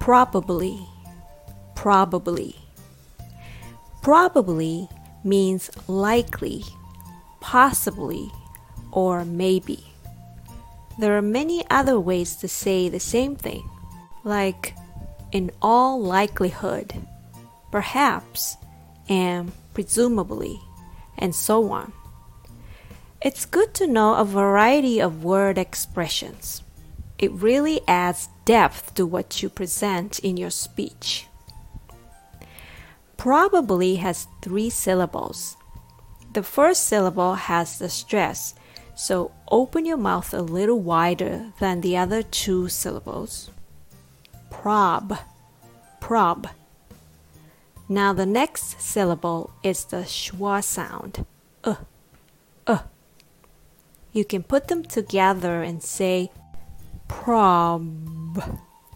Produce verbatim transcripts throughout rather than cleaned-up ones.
Probably, probably. Probably means likely, possibly, or maybe. There are many other ways to say the same thing, like in all likelihood, perhaps, and presumably, and so on. It's good to know a variety of word expressions. It really adds depth to what you present in your speech. Probably has three syllables. The first syllable has the stress, so open your mouth a little wider than the other two syllables. Prob, prob. Now the next syllable is the schwa sound. Uh, uh. You can put them together and say prob,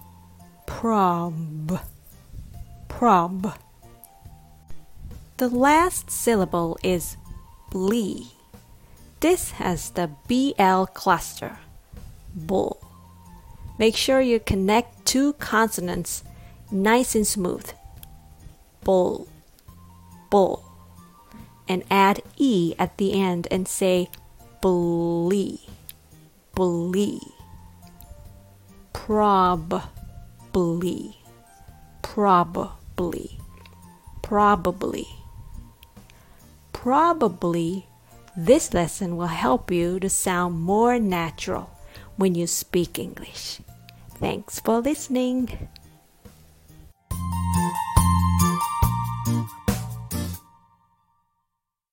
prob, prob. The last syllable is blee. This has the B L cluster, bull. Make sure you connect two consonants nice and smooth. Bull, bull. And add E at the end and say blee, blee. Probably, probably, probably. Probably, this lesson will help you to sound more natural when you speak English. Thanks for listening.